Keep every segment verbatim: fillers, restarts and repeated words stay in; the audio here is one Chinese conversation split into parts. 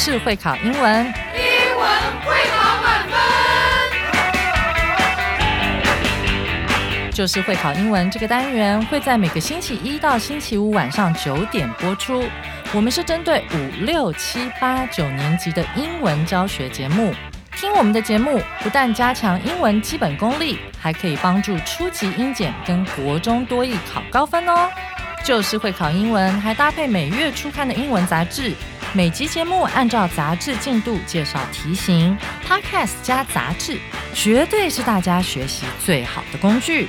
就是会考英文， 英文会考满分。 就是会考英文这个单元会在每个星期一到星期五晚上九点播出。我们是针对五六七八九年级的英文教学节目。听我们的节目，不但加强英文基本功力，还可以帮助初级英检跟国中多益考高分哦。就是会考英文，还搭配每月初刊的英文杂志。每集节目按照杂志进度介绍题型 ，Podcast 加杂志，绝对是大家学习最好的工具。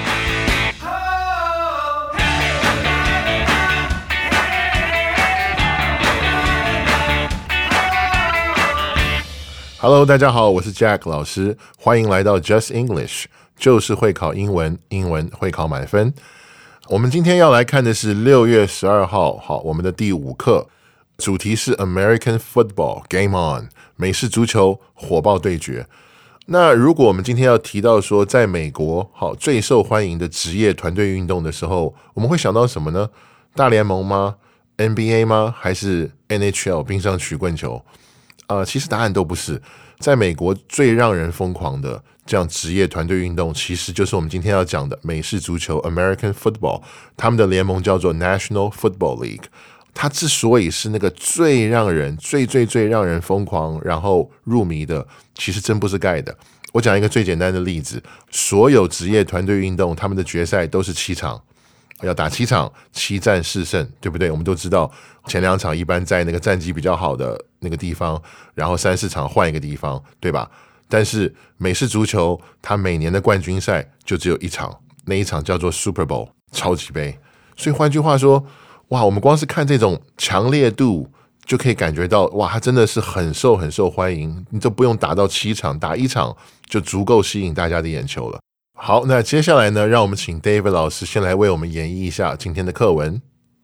Hello， 大家好，我是 Jack 老师，欢迎来到 Just English， 就是会考英文，英文会考满分。我们今天要来看的是六月十二号，好，我们的第五课，主题是 American Football Game On， 美式足球火爆对决。那如果我们今天要提到说，在美国好最受欢迎的职业团队运动的时候，我们会想到什么呢？大联盟吗？ N B A 吗？还是 N H L 冰上曲棍球？呃，其实答案都不是。在美国最让人疯狂的这样职业团队运动，其实就是我们今天要讲的美式足球 American Football， 他们的联盟叫做 National Football League。它之所以是那个最让人最最最让人疯狂然后入迷的，其实真不是盖的。我讲一个最简单的例子，所有职业团队运动他们的决赛都是七场，要打七场，七战四胜，对不对？我们都知道前两场一般在那个战绩比较好的那个地方，然后三四场换一个地方，对吧？但是美式足球它每年的冠军赛就只有一场，那一场叫做 Super Bowl 超级杯。所以换句话说，哇，我们光是看这种强烈度就可以感觉到，哇，它真的是很受很受欢迎，你都不用打到七场，打一场就足够吸引大家的眼球了。好，那接下来呢，让我们请 David 老师先来为我们演绎一下今天的课文。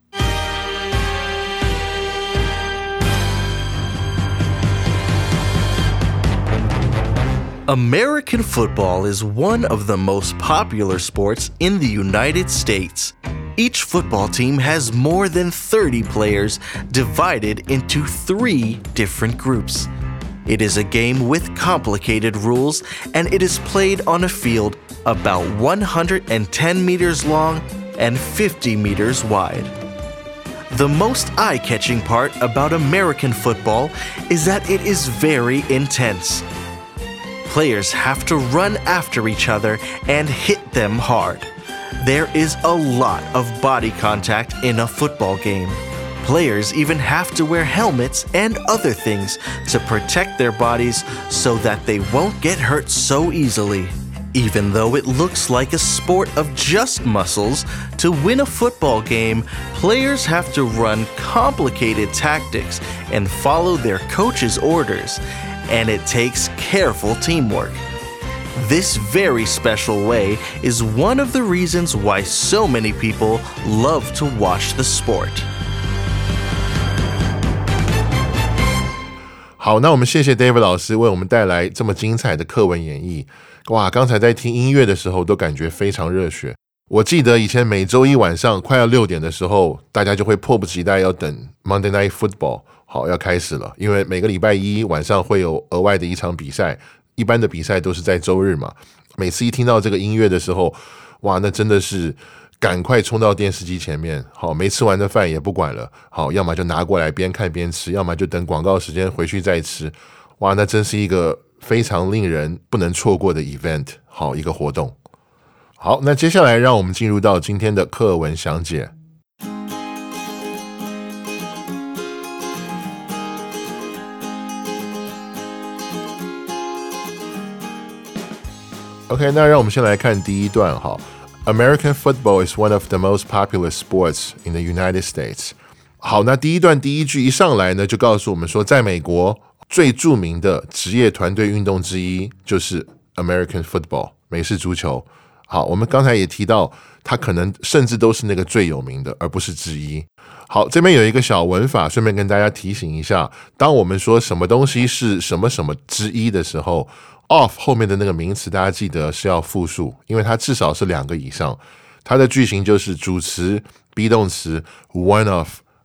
American football is one of the most popular sports in the United States. Each football team has more than thirty players divided into three different groups. It is a game with complicated rules, and it is played on a field about one hundred ten meters long and fifty meters wide. The most eye-catching part about American football is that it is very intense. Players have to run after each other and hit them hard. There is a lot of body contact in a football game. Players even have to wear helmets and other things to protect their bodies so that they won't get hurt so easily. Even though it looks like a sport of just muscles, to win a football game, players have to run complicated tactics and follow their coach's orders, and it takes careful teamwork. This very special way is one of the reasons why so many people love to watch the sport. 好，那我们谢谢 David 老师为我们带来这么精彩的课文演绎。哇，刚才在听音乐的时候都感觉非常热血。我记得以前每周一晚上快要六点的时候，大家就会迫不及待要等 Monday Night Football 好要开始了，因为每个礼拜一晚上会有额外的一场比赛，一般的比赛都是在周日嘛。每次一听到这个音乐的时候，哇，那真的是赶快冲到电视机前面，好，没吃完的饭也不管了，好，要么就拿过来边看边吃，要么就等广告时间回去再吃。哇，那真是一个非常令人不能错过的 event， 好，一个活动。好，那接下来让我们进入到今天的课文详解。OK， 那让我们先来看第一段哈。American football is one of the most popular sports in the United States。好，那第一段第一句一上来呢，就告诉我们说，在美国最著名的职业团队运动之一就是 American football， 美式足球。好，我们刚才也提到，它可能甚至都是那个最有名的，而不是之一。好，这边有一个小文法，顺便跟大家提醒一下，当我们说什么东西是什么什么之一的时候 of 后面的那个名词大家记得是要复数，因为它至少是两个以上。它的句型就是主词 be 动词 one of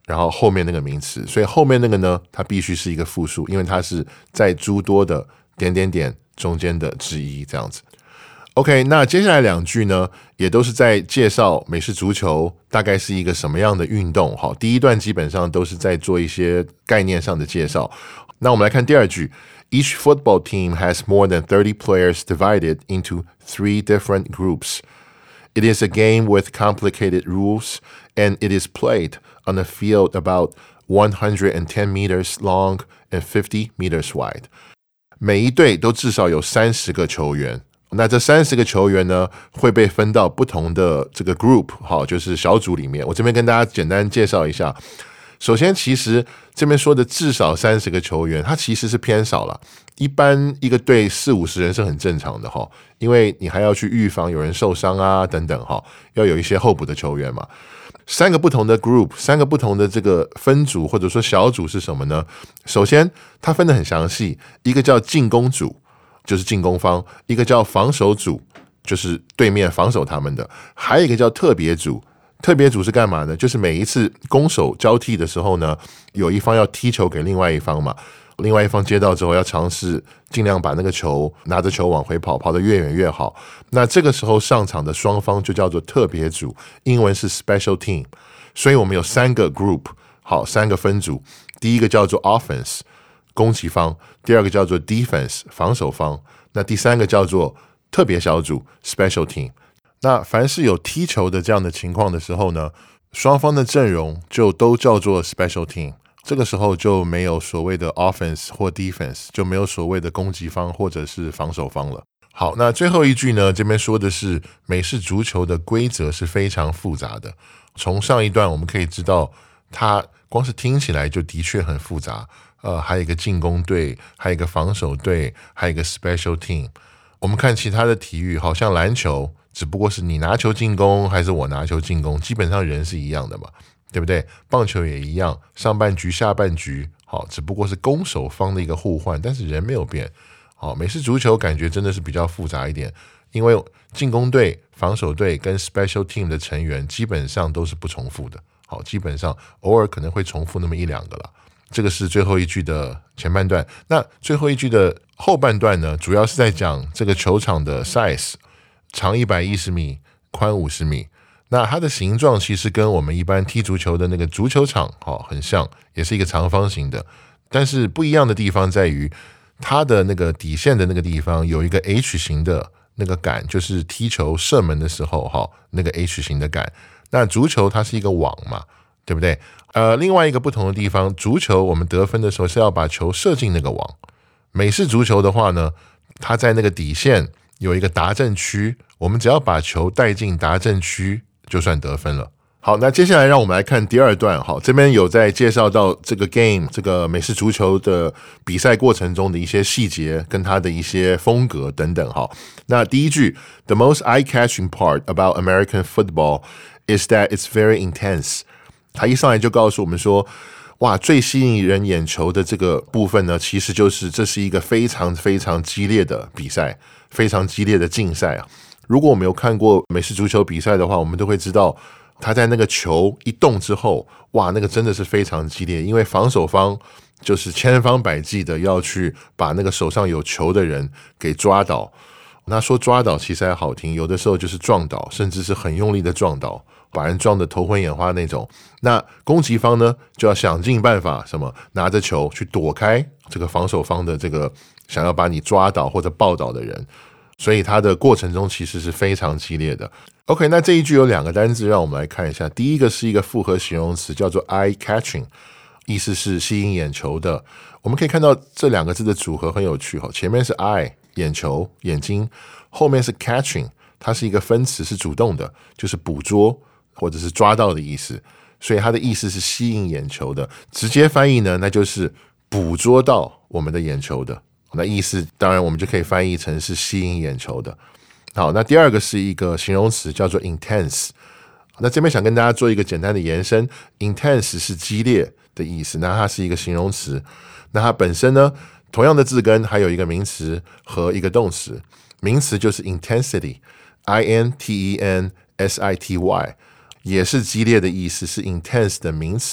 然后后面那个名词，所以后面那个呢，它必须是一个复数，因为它是在诸多的点点点中间的之一，这样子。OK， 那接下来两句呢，也都是在介绍美式足球大概是一个什么样的运动。好，第一段基本上都是在做一些概念上的介绍。那我们来看第二句 ，Each football team has more than thirty players divided into three different groups. It is a game with complicated rules, and it is played on a field about one hundred ten meters long and fifty meters wide. 每一队都至少有三十个球员。那这三十个球员呢，会被分到不同的这个 group， 好，就是小组里面。我这边跟大家简单介绍一下。首先，其实这边说的至少三十个球员，它其实是偏少了。一般一个队四五十人是很正常的哈，因为你还要去预防有人受伤啊等等哈，要有一些候补的球员嘛。三个不同的 group， 三个不同的这个分组或者说小组是什么呢？首先，它分得很详细，一个叫进攻组。就是进攻方，一个叫防守组，就是对面防守他们的，还有一个叫特别组。特别组是干嘛呢？就是每一次攻守交替的时候呢，有一方要踢球给另外一方嘛，另外一方接到之后要尝试尽量把那个球拿着球往回跑，跑得越远越好。那这个时候上场的双方就叫做特别组，英文是 special team。所以我们有三个 group， 好，三个分组。第一个叫做 offense。攻击方，第二个叫做 defense 防守方，那第三个叫做特别小组 special team。那凡是有踢球的这样的情况的时候呢，双方的阵容就都叫做 special team。这个时候就没有所谓的 offense 或 defense， 就没有所谓的攻击方或者是防守方了。好，那最后一句呢，这边说的是美式足球的规则是非常复杂的。从上一段我们可以知道，它光是听起来就的确很复杂。呃，还有一个进攻队，还有一个防守队，还有一个 special team。我们看其他的体育，好像篮球，只不过是你拿球进攻还是我拿球进攻，基本上人是一样的嘛，对不对？棒球也一样，上半局、下半局，好，只不过是攻守方的一个互换，但是人没有变。好，美式足球感觉真的是比较复杂一点，因为进攻队、防守队跟 special team 的成员基本上都是不重复的。好，基本上偶尔可能会重复那么一两个啦。这个是最后一句的前半段。那最后一句的后半段呢，主要是在讲这个球场的 size， 长一百一十米，宽五十米。那它的形状其实跟我们一般踢足球的那个足球场、哦、很像，也是一个长方形的。但是不一样的地方在于，它的那个底线的那个地方有一个 H 型的那个杆，就是踢球射门的时候、哦、那个 H 型的杆。那足球它是一个网嘛，对不对？呃，另外一个不同的地方，足球我们得分的时候是要把球射进那个网。美式足球的话呢，它在那个底线有一个达阵区，我们只要把球带进达阵区就算得分了。好，那接下来让我们来看第二段。好，这边有在介绍到这个 game 这个美式足球的比赛过程中的一些细节跟它的一些风格等等。好，那第一句 The most eye-catching part about American football is that it's very intense。他一上来就告诉我们说，哇，最吸引人眼球的这个部分呢，其实就是这是一个非常非常激烈的比赛，非常激烈的竞赛啊。如果我们有看过美式足球比赛的话，我们都会知道，他在那个球一动之后，哇，那个真的是非常激烈，因为防守方就是千方百计的要去把那个手上有球的人给抓倒。那说抓倒其实还好听，有的时候就是撞倒，甚至是很用力的撞倒，把人撞得头昏眼花那种。那攻击方呢，就要想尽办法，什么拿着球去躲开这个防守方的这个想要把你抓倒或者抱倒的人。所以它的过程中其实是非常激烈的。OK， 那这一句有两个单字，让我们来看一下。第一个是一个复合形容词，叫做 eye-catching， 意思是吸引眼球的。我们可以看到这两个字的组合很有趣，前面是 eye 眼球眼睛，后面是 catching， 它是一个分词，是主动的，就是捕捉或者是抓到的意思。所以它的意思是吸引眼球的。直接翻译呢，那就是捕捉到我们的眼球的。那意思当然我们就可以翻译成是吸引眼球的。好，那第二个是一个形容词，叫做 intense。 那这边想跟大家做一个简单的延伸， intense 是激烈的意思，那它是一个形容词。那它本身呢，同样的字根还有一个名词和一个动词。名词就是 intensity， I N T E N S I T Y， 也是激烈的意思，是 intense 的名词，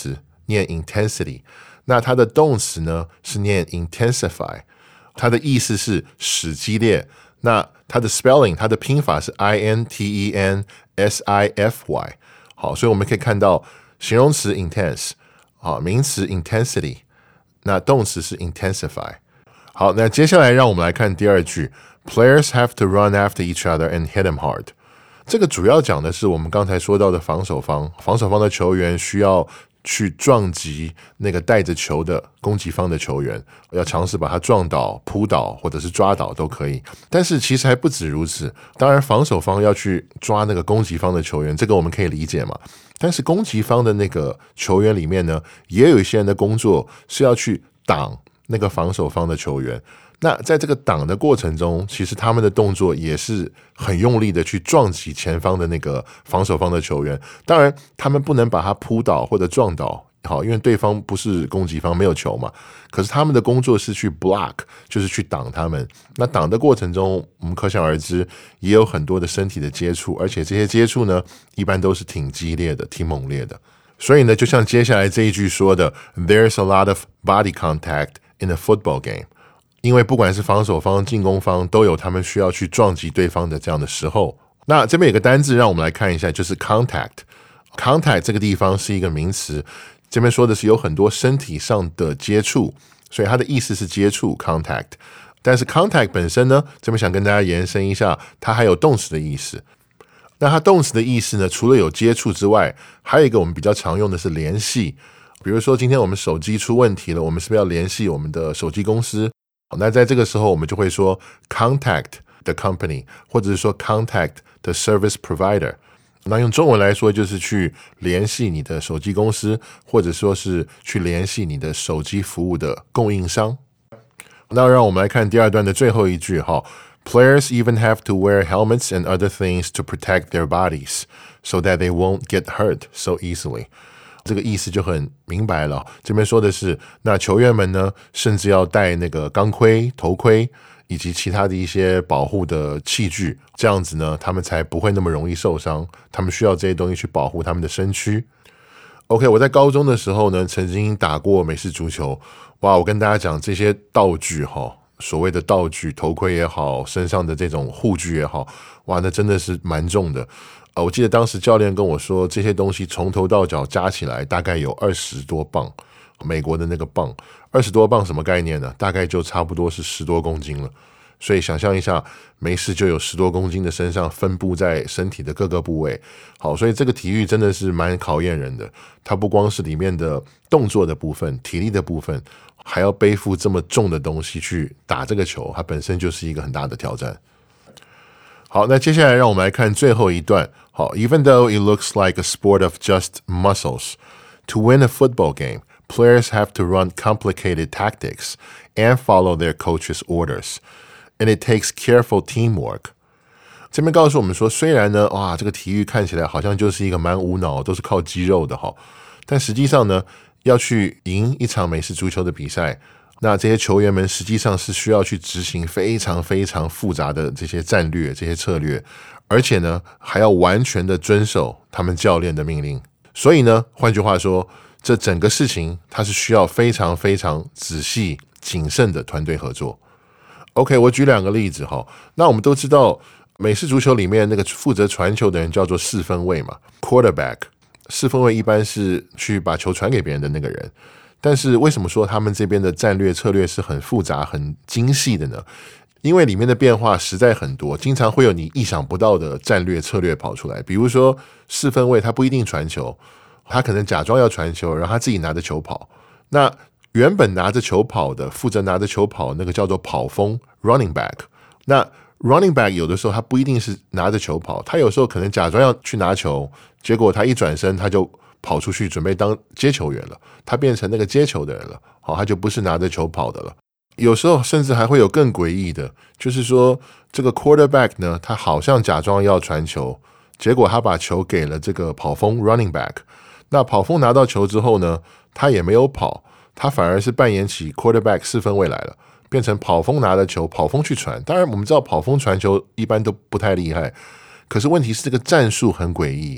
念 intensity， 那它的动词呢是念 intensify， 它的意思是使激烈。那它的 spelling 它的拼法是 I N T E N S I F Y。 好，所以我们可以看到形容词 intense， 好，名词 intensity， 那动词是 intensify。 好，那接下来让我们来看第二句 Players have to run after each other and hit them hard。 这个主要讲的是我们刚才说到的防守方，防守方的球员需要去撞击那个带着球的攻击方的球员，要尝试把他撞倒、扑倒或者是抓倒都可以。但是其实还不止如此，当然防守方要去抓那个攻击方的球员，这个我们可以理解嘛。但是攻击方的那个球员里面呢，也有一些人的工作是要去挡那个防守方的球员。那在这个挡的过程中，其实他们的动作也是很用力的去撞击前方的那个防守方的球员。当然他们不能把他扑倒或者撞倒，好，因为对方不是攻击方，没有球嘛。可是他们的工作是去 block， 就是去挡他们。那挡的过程中，我们可想而知也有很多的身体的接触，而且这些接触呢一般都是挺激烈的、挺猛烈的。所以呢，就像接下来这一句说的 There's a lot of body contact in a football game，因为不管是防守方、进攻方，都有他们需要去撞击对方的这样的时候。那这边有个单字让我们来看一下，就是 contact。contact 这个地方是一个名词，这边说的是有很多身体上的接触，所以它的意思是接触 contact。但是 contact 本身呢，这边想跟大家延伸一下，它还有动词的意思。那它动词的意思呢，除了有接触之外，还有一个我们比较常用的是联系。比如说今天我们手机出问题了，我们是不是要联系我们的手机公司？那在这个时候我们就会说 contact the company， 或者是说 contact the service provider。 那用中文来说就是去联系你的手机公司，或者说是去联系你的手机服务的供应商。那让我们来看第二段的最后一句哈 Players even have to wear helmets and other things to protect their bodies so that they won't get hurt so easily。这个意思就很明白了，这边说的是那球员们呢甚至要戴那个钢盔、头盔以及其他的一些保护的器具，这样子呢他们才不会那么容易受伤，他们需要这些东西去保护他们的身躯。 OK， 我在高中的时候呢曾经打过美式足球。哇，我跟大家讲这些道具齁，所谓的道具，头盔也好，身上的这种护具也好，哇，那真的是蛮重的。呃，我记得当时教练跟我说，这些东西从头到脚加起来大概有二十多磅，美国的那个磅，二十多磅什么概念呢？大概就差不多是十多公斤了。所以想象一下，没事就有十多公斤的身上分布在身体的各个部位。好，所以这个体育真的是蛮考验人的。它不光是里面的动作的部分、体力的部分，还要背负这么重的东西去打这个球，它本身就是一个很大的挑战。好，那接下来让我们来看最后一段。好 ，Even though it looks like a sport of just muscles, to win a football game, players have to run complicated tactics and follow their coach's orders, and it takes careful teamwork. 这边告诉我们说，虽然呢，哇，这个体育看起来好像就是一个蛮无脑，都是靠肌肉的哈，但实际上呢，要去赢一场美式足球的比赛。那这些球员们实际上是需要去执行非常非常复杂的这些战略、这些策略，而且呢，还要完全的遵守他们教练的命令。所以呢，换句话说，这整个事情它是需要非常非常仔细、谨慎的团队合作。OK， 我举两个例子哈。那我们都知道，美式足球里面那个负责传球的人叫做四分卫嘛 ，quarterback。四分卫一般是去把球传给别人的那个人。但是为什么说他们这边的战略策略是很复杂、很精细的呢？因为里面的变化实在很多，经常会有你意想不到的战略策略跑出来。比如说四分卫他不一定传球，他可能假装要传球，然后他自己拿着球跑。那原本拿着球跑的，负责拿着球跑那个叫做跑锋 running back。那 running back 有的时候他不一定是拿着球跑，他有时候可能假装要去拿球，结果他一转身他就跑出去准备当接球员了，他变成那个接球的人了，好，他就不是拿着球跑的了。有时候甚至还会有更诡异的，就是说这个 quarterback 呢，他好像假装要传球，结果他把球给了这个跑锋 running back。那跑锋拿到球之后呢，他也没有跑，他反而是扮演起 quarterback 四分卫来了，变成跑锋拿了球，跑锋去传。当然我们知道跑锋传球一般都不太厉害，可是问题是这个战术很诡异。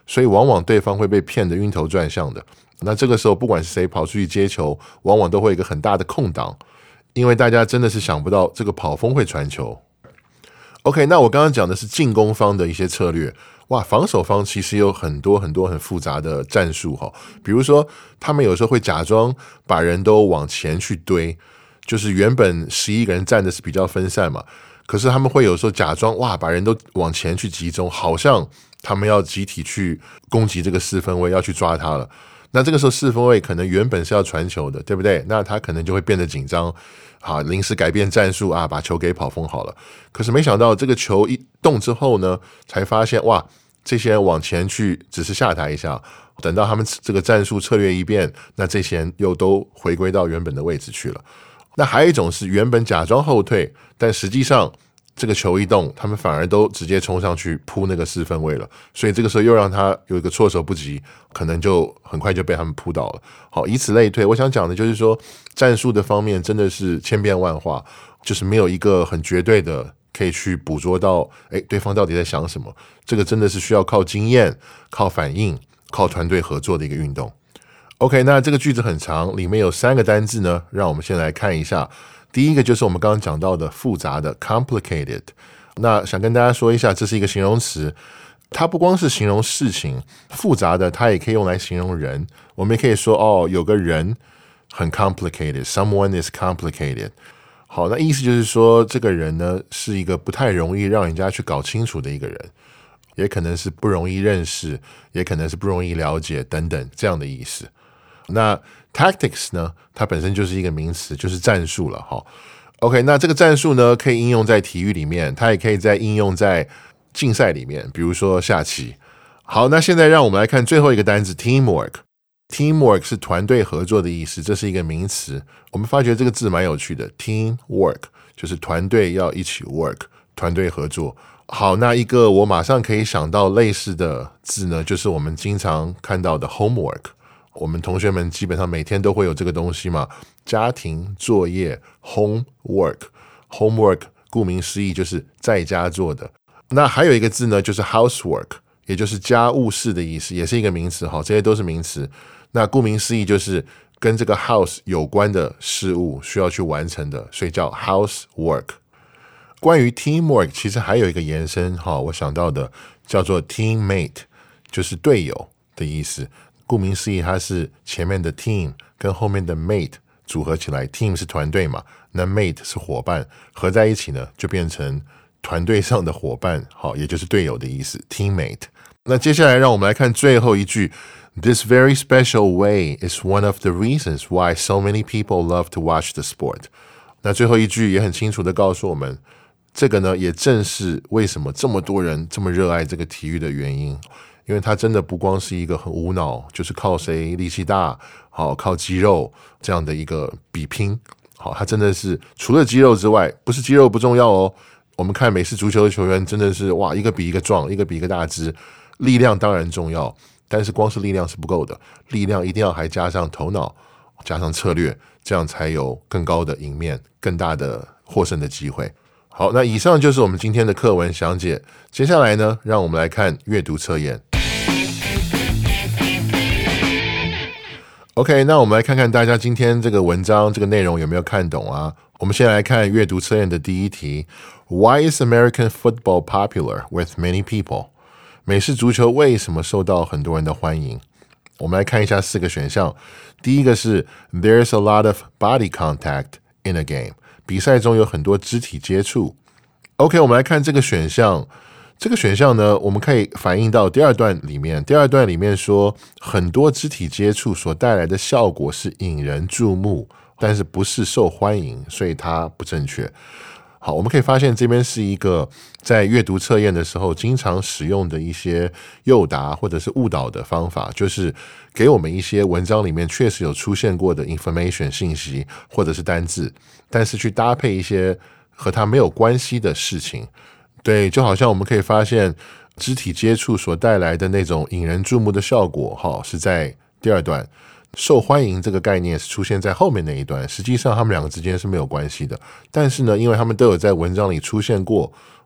所以往往对方会被骗得晕头转向的。那这个时候不管是谁跑出去接球，往往都会有一个很大的空档，因为大家真的是想不到这个跑锋会传球。 OK， 那我刚刚讲的是进攻方的一些策略，哇，防守方其实有很多很多很复杂的战术，比如说他们有时候会假装把人都往前去堆，就是原本十一个人站的是比较分散嘛，可是他们会有时候假装哇把人都往前去集中，好像他们要集体去攻击这个四分卫，要去抓他了。那这个时候四分卫可能原本是要传球的，对不对？那他可能就会变得紧张，好，临时改变战术啊，把球给跑锋好了。可是没想到这个球一动之后呢，才发现哇，这些人往前去只是吓他一下，等到他们这个战术策略一变，那这些人又都回归到原本的位置去了。那还有一种是原本假装后退，但实际上这个球一动，他们反而都直接冲上去扑那个四分卫了，所以这个时候又让他有一个措手不及，可能就很快就被他们扑倒了。好，以此类推。我想讲的就是说，战术的方面真的是千变万化，就是没有一个很绝对的可以去捕捉到，哎，对方到底在想什么。这个真的是需要靠经验、靠反应、靠团队合作的一个运动。OK， 那这个句子很长，里面有三个单字呢，让我们先来看一下。第一个就是我们刚刚讲到的复杂的 complicated， 那想跟大家说一下，这是一个形容词，它不光是形容事情，复杂的它也可以用来形容人。我们也可以说哦，有个人很 complicated， someone is complicated。 好，那意思就是说这个人呢是一个不太容易让人家去搞清楚的一个人，也可能是不容易认识，也可能是不容易了解等等这样的意思。那 tactics 呢，它本身就是一个名词，就是战术了。OK， 那这个战术呢可以应用在体育里面，它也可以在应用在竞赛里面，比如说下棋。好，那现在让我们来看最后一个单字 teamwork。 teamwork 是团队合作的意思，这是一个名词。我们发觉这个字蛮有趣的， teamwork 就是团队要一起 work， 团队合作。好，那一个我马上可以想到类似的字呢，就是我们经常看到的 homework。我们同学们基本上每天都会有这个东西嘛，家庭作业 homework。 homework 顾名思义就是在家做的。那还有一个字呢，就是 housework， 也就是家务事的意思，也是一个名词。这些都是名词。那顾名思义就是跟这个 house 有关的事物需要去完成的，所以叫 housework。 关于 teamwork 其实还有一个延伸，我想到的叫做 teammate， 就是队友的意思。顾名思义，它是前面的 team 跟后面的 mate 组合起来， team 是团队嘛，那 mate 是伙伴，合在一起呢就变成团队上的伙伴，好，也就是队友的意思 teammate。 那接下来让我们来看最后一句， This very special way is one of the reasons why so many people love to watch the sport。 那最后一句也很清楚的告诉我们，这个呢也正是为什么这么多人这么热爱这个体育的原因。因为它真的不光是一个很无脑，就是靠谁力气大，好，靠肌肉这样的一个比拼。好，它真的是除了肌肉之外，不是肌肉不重要哦。我们看美式足球的球员真的是哇，一个比一个壮，一个比一个大只，力量当然重要，但是光是力量是不够的，力量一定要还加上头脑，加上策略，这样才有更高的赢面，更大的获胜的机会。好，那以上就是我们今天的课文详解。接下来呢，让我们来看阅读测验。OK， 那我们来看看大家今天这个文章这个内容有没有看懂啊？我们先来看阅读测验的第一题。Why is American football popular with many people？ 美式足球为什么受到很多人的欢迎？我们来看一下四个选项。第一个是 There's a lot of body contact in a game。 比赛中有很多肢体接触。OK， 我们来看这个选项。这个选项呢，我们可以反映到第二段里面。第二段里面说，很多肢体接触所带来的效果是引人注目，但是不是受欢迎，所以它不正确。好，我们可以发现这边是一个在阅读测验的时候经常使用的一些诱答或者是误导的方法，就是给我们一些文章里面确实有出现过的 information 信息或者是单字，但是去搭配一些和它没有关系的事情。对，就好像我们可以发现肢体接触所带来的那种引人注目的效果，哈，是在第二段。受欢迎这个概念是出现在后面那一段，实际上他们两个之间是没有关系的。但是呢，因为他们都有在文章里出现过，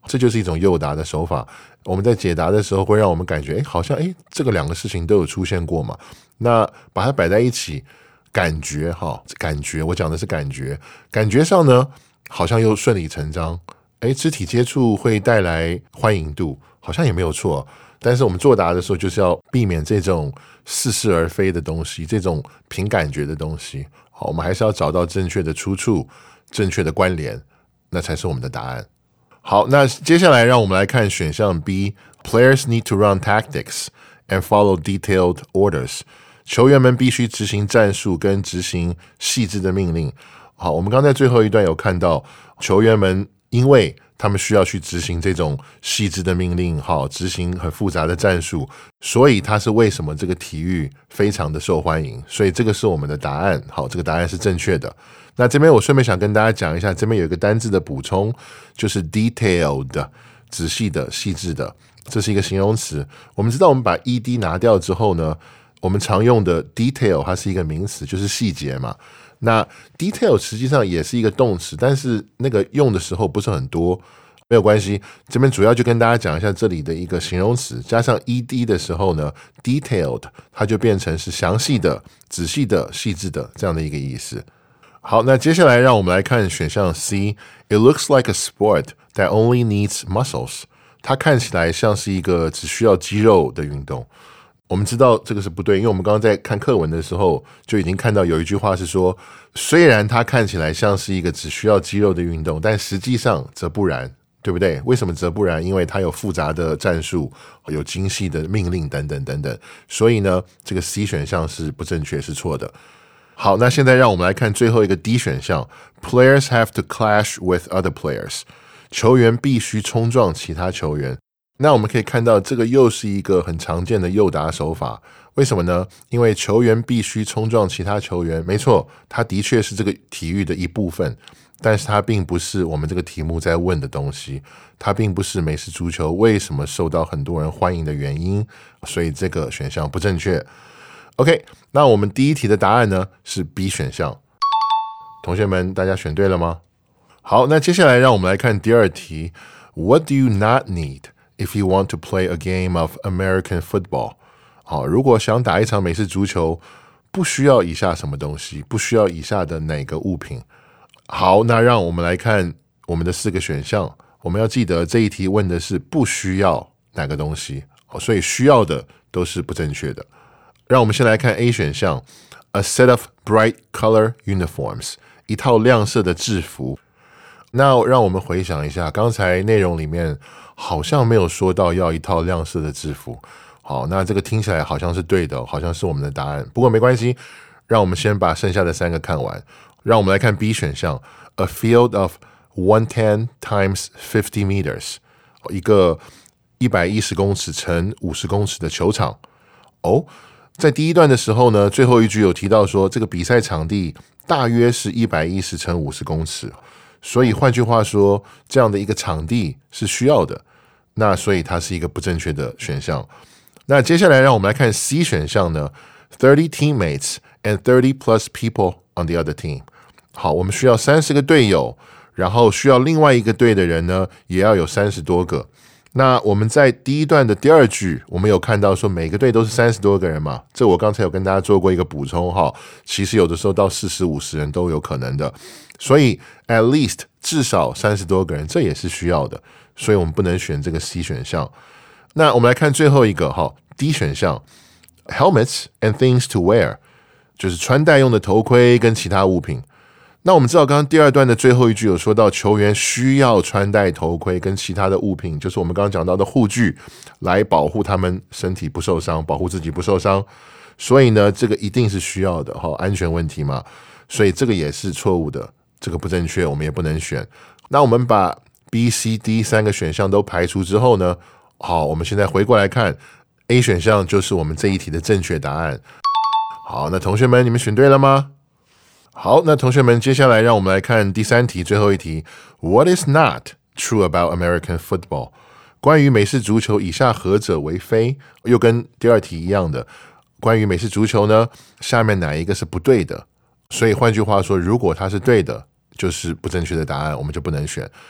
这就是一种诱答的手法。我们在解答的时候会让我们感觉，诶，好像诶，这个两个事情都有出现过嘛。那把它摆在一起，感觉哈，感觉我讲的是感觉，感觉上呢，好像又顺理成章。诶，肢体接触会带来欢迎度，好像也没有错。但是我们作答的时候，就是要避免这种似是而非的东西，这种凭感觉的东西。好，我们还是要找到正确的出处、正确的关联，那才是我们的答案。好，那接下来让我们来看选项 B。Players need to run tactics and follow detailed orders. 球员们必须执行战术跟执行细致的命令。好，我们刚才最后一段有看到，球员们因为他们需要去执行这种细致的命令，好，执行很复杂的战术，所以它是为什么这个体育非常的受欢迎。所以这个是我们的答案，好，这个答案是正确的。那这边我顺便想跟大家讲一下，这边有一个单字的补充，就是 detailed， 仔细的、细致的，这是一个形容词。我们知道我们把 ed 拿掉之后呢，我们常用的 detail 它是一个名词，就是细节嘛。那 detail 实际上也是一个动词，但是那个用的时候不是很多，没有关系。这边主要就跟大家讲一下这里的一个形容词，加上 ed 的时候呢 detailed 它就变成是详细的、仔细的、细致的这样的一个意思。好，那接下来让我们来看选项 C。It looks like a sport that only needs muscles. 它看起来像是一个只需要肌肉的运动。我们知道这个是不对，因为我们刚刚在看课文的时候就已经看到有一句话是说，虽然它看起来像是一个只需要肌肉的运动，但实际上则不然，对不对？为什么则不然？因为它有复杂的战术，有精细的命令等等等等，所以呢，这个 C 选项是不正确，是错的。好，那现在让我们来看最后一个 D 选项 Players have to clash with other players. 球员必须冲撞其他球员。那我们可以看到这个又是一个很常见的诱答手法，为什么呢？因为球员必须冲撞其他球员，没错，它的确是这个体育的一部分，但是它并不是我们这个题目在问的东西，它并不是美式足球为什么受到很多人欢迎的原因，所以这个选项不正确。OK， 那我们第一题的答案呢是 B 选项。同学们，大家选对了吗？好，那接下来让我们来看第二题。What do you not need if you want to play a game of American football? 好，如果想打一场美式足球，不需要以下什么东西？不需要以下的哪个物品？好，那让我们来看我们的四个选项。我们要记得这一题问的是不需要哪个东西，所以需要的都是不正确的。让我们先来看 A 选项 A set of bright color uniforms， 一套亮色的制服。那让我们回想一下，刚才内容里面好像没有说到要一套亮色的制服。好，那这个听起来好像是对的，好像是我们的答案。不过没关系，让我们先把剩下的三个看完。让我们来看 B 选项 A field of one hundred ten times fifty meters， 一个一百一十公尺乘五十公尺的球场。哦，在第一段的时候呢，最后一句有提到说这个比赛场地大约是一百一十乘五十公尺，所以换句话说，这样的一个场地是需要的，那所以它是一个不正确的选项。那接下来让我们来看 C 选项呢 thirty teammates and thirty plus people on the other team。 好，我们需要三十个队友，然后需要另外一个队的人呢也要有三十多个。那我们在第一段的第二句，我们有看到说每个队都是三十多个人嘛，这我刚才有跟大家做过一个补充哈，其实有的时候到四十五十人都有可能的，所以 at least 至少三十多个人，这也是需要的，所以我们不能选这个 C 选项。那我们来看最后一个哈 D 选项 helmets and things to wear， 就是穿戴用的头盔跟其他物品。那我们知道刚刚第二段的最后一句有说到球员需要穿戴头盔跟其他的物品，就是我们刚刚讲到的护具，来保护他们身体不受伤，保护自己不受伤，所以呢这个一定是需要的，安全问题嘛，所以这个也是错误的，这个不正确，我们也不能选。那我们把 B、C、D 三个选项都排除之后呢，好，我们现在回过来看 A 选项就是我们这一题的正确答案。好，那同学们你们选对了吗？好，那同学们接下来让我们来看第三题，最后一题 What is not true about American football？ 关于美式足球以下何者为非？又跟第二题一样的，关于美式足球呢，下面哪一个是不对的？所以换句话说，如果它是对的，就是不正确的答案，我们就不能选。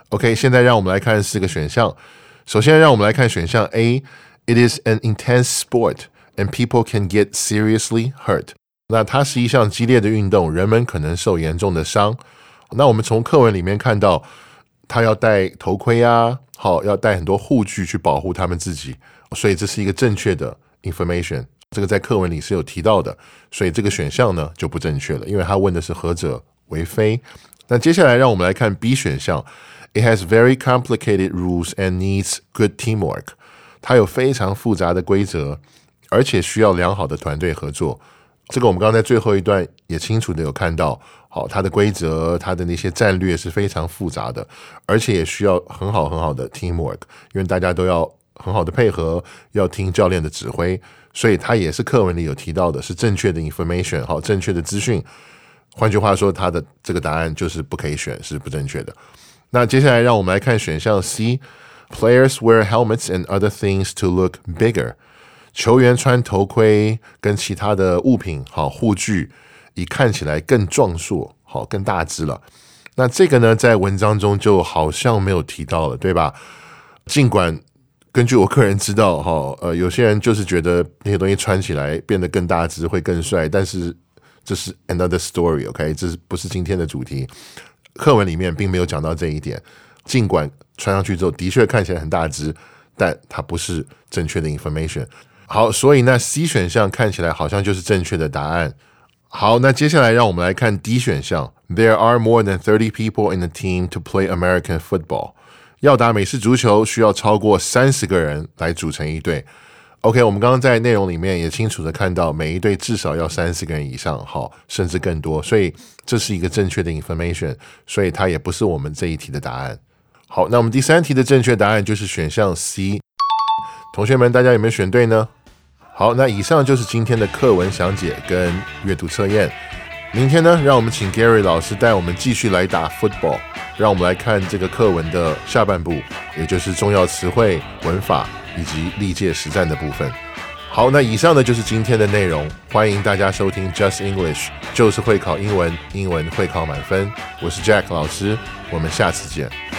OK， 现在让我们来看四个选项。首先让我们来看选项 A， It is an intense sport and people can get seriously hurt。那它是一项激烈的运动，人们可能受严重的伤。那我们从课文里面看到，他要戴头盔啊，好，要戴很多护具去保护他们自己，所以这是一个正确的 information。这个在课文里是有提到的，所以这个选项呢就不正确了，因为他问的是何者为非。那接下来让我们来看 B 选项 ，It has very complicated rules and needs good teamwork。它有非常复杂的规则，而且需要良好的团队合作。这个我们刚刚在最后一段也清楚的有看到，好，它的规则，它的那些战略是非常复杂的，而且也需要很好很好的 teamwork， 因为大家都要很好的配合，要听教练的指挥，所以它也是课文里有提到的，是正确的 information， 好，正确的资讯。换句话说，它的这个答案就是不可以选，是不正确的。那接下来让我们来看选项 C，Players wear helmets and other things to look bigger。球员穿头盔跟其他的物品，好，护具，以看起来更壮硕，好，更大只了。那这个呢，在文章中就好像没有提到了，对吧？尽管根据我个人知道，哈，呃，有些人就是觉得那些东西穿起来变得更大只会更帅，但是这是 another story，OK， 这不是今天的主题。课文里面并没有讲到这一点。尽管穿上去之后的确看起来很大只，但它不是正确的 information。好，所以那 C 选项看起来好像就是正确的答案。好，那接下来让我们来看 D 选项。There are more than thirty people in the team to play American football。要打美式足球需要超过三十个人来组成一队。OK， 我们刚刚在内容里面也清楚的看到，每一队至少要三十个人以上，好，甚至更多，所以这是一个正确的 information， 所以它也不是我们这一题的答案。好，那我们第三题的正确答案就是选项 C。同学们，大家有没有选对呢？好，那以上就是今天的课文详解跟阅读测验。明天呢，让我们请 Gary 老师带我们继续来打 football， 让我们来看这个课文的下半部，也就是重要词汇、文法以及历届实战的部分。好，那以上呢就是今天的内容，欢迎大家收听 Just English， 就是会考英文，英文会考满分。我是 Jack 老师，我们下次见。